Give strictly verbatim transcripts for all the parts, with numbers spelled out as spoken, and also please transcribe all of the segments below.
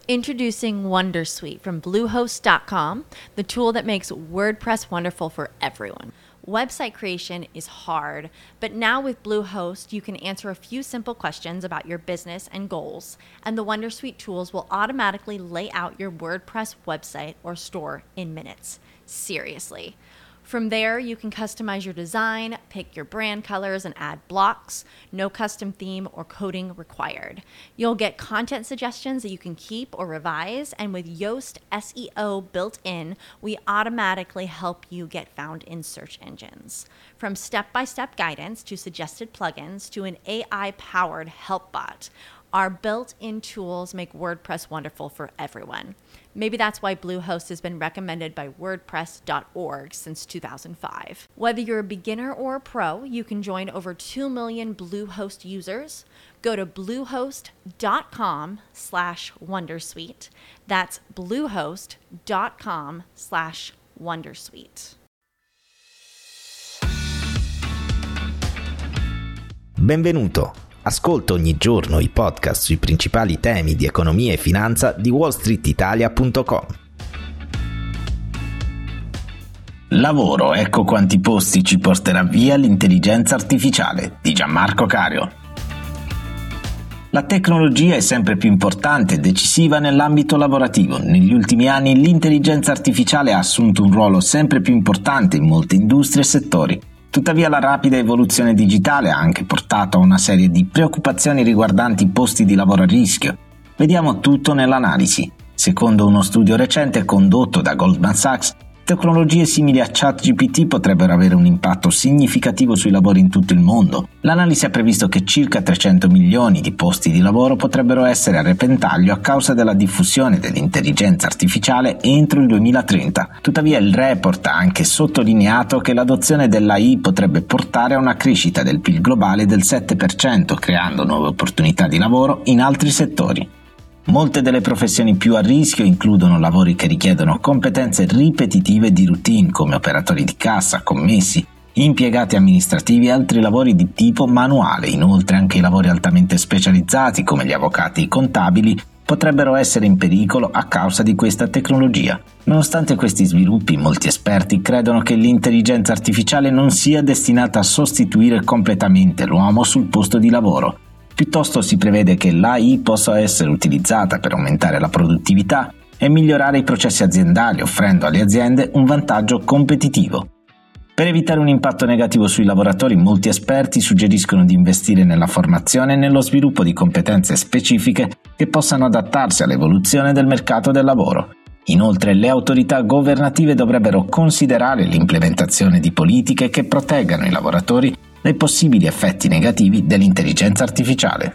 Introducing Wondersuite from Bluehost dot com, the tool that makes WordPress wonderful for everyone. Website creation is hard, but now with Bluehost, you can answer a few simple questions about your business and goals, and the Wondersuite tools will automatically lay out your WordPress website or store in minutes. Seriously. From there, you can customize your design, pick your brand colors, and add blocks. No custom theme or coding required. You'll get content suggestions that you can keep or revise, and with Yoast S E O built in, we automatically help you get found in search engines. From step-by-step guidance to suggested plugins to an A I-powered help bot, our built-in tools make WordPress wonderful for everyone. Maybe that's why Bluehost has been recommended by WordPress dot org since two thousand five. Whether you're a beginner or a pro, you can join over two million Bluehost users. Go to bluehost dot com slash wondersuite. That's bluehost dot com slash wondersuite. Benvenuto! Ascolta ogni giorno i podcast sui principali temi di economia e finanza di wall street italia punto com. Lavoro, ecco quanti posti ci porterà via l'intelligenza artificiale di Gianmarco Cario. La tecnologia è sempre più importante e decisiva nell'ambito lavorativo. Negli ultimi anni l'intelligenza artificiale ha assunto un ruolo sempre più importante in molte industrie e settori. Tuttavia la rapida evoluzione digitale ha anche portato a una serie di preoccupazioni riguardanti i posti di lavoro a rischio. Vediamo tutto nell'analisi. Secondo uno studio recente condotto da Goldman Sachs, tecnologie simili a ChatGPT potrebbero avere un impatto significativo sui lavori in tutto il mondo. L'analisi ha previsto che circa trecento milioni di posti di lavoro potrebbero essere a repentaglio a causa della diffusione dell'intelligenza artificiale entro il duemilatrenta. Tuttavia il report ha anche sottolineato che l'adozione dell'A I potrebbe portare a una crescita del P I L globale del sette per cento, creando nuove opportunità di lavoro in altri settori. Molte delle professioni più a rischio includono lavori che richiedono competenze ripetitive di routine come operatori di cassa, commessi, impiegati amministrativi e altri lavori di tipo manuale. Inoltre anche i lavori altamente specializzati come gli avvocati e i contabili potrebbero essere in pericolo a causa di questa tecnologia. Nonostante questi sviluppi, molti esperti credono che l'intelligenza artificiale non sia destinata a sostituire completamente l'uomo sul posto di lavoro. Piuttosto si prevede che l'A I possa essere utilizzata per aumentare la produttività e migliorare i processi aziendali, offrendo alle aziende un vantaggio competitivo. Per evitare un impatto negativo sui lavoratori, molti esperti suggeriscono di investire nella formazione e nello sviluppo di competenze specifiche che possano adattarsi all'evoluzione del mercato del lavoro. Inoltre, le autorità governative dovrebbero considerare l'implementazione di politiche che proteggano i lavoratori dai possibili effetti negativi dell'intelligenza artificiale.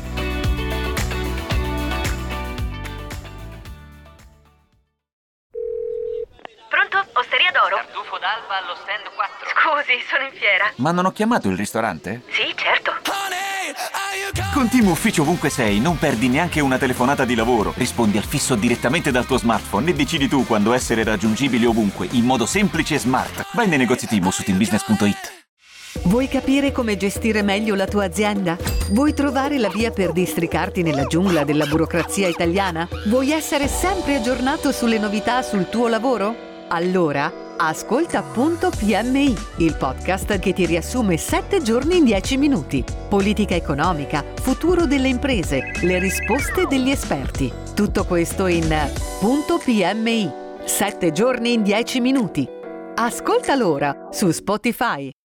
Pronto? Osteria d'oro? Tartufo d'alba allo stand quattro. Scusi, sono in fiera. Ma non ho chiamato il ristorante? Sì, certo. Con Team Ufficio ovunque sei, non perdi neanche una telefonata di lavoro. Rispondi al fisso direttamente dal tuo smartphone e decidi tu quando essere raggiungibile ovunque, in modo semplice e smart. Vai nei negozi Team o su team business punto it. Vuoi capire come gestire meglio la tua azienda? Vuoi trovare la via per districarti nella giungla della burocrazia italiana? Vuoi essere sempre aggiornato sulle novità sul tuo lavoro? Allora, ascolta Punto P M I, il podcast che ti riassume sette giorni in dieci minuti. Politica economica, futuro delle imprese, le risposte degli esperti. Tutto questo in Punto P M I, sette giorni in dieci minuti. Ascoltalo ora su Spotify.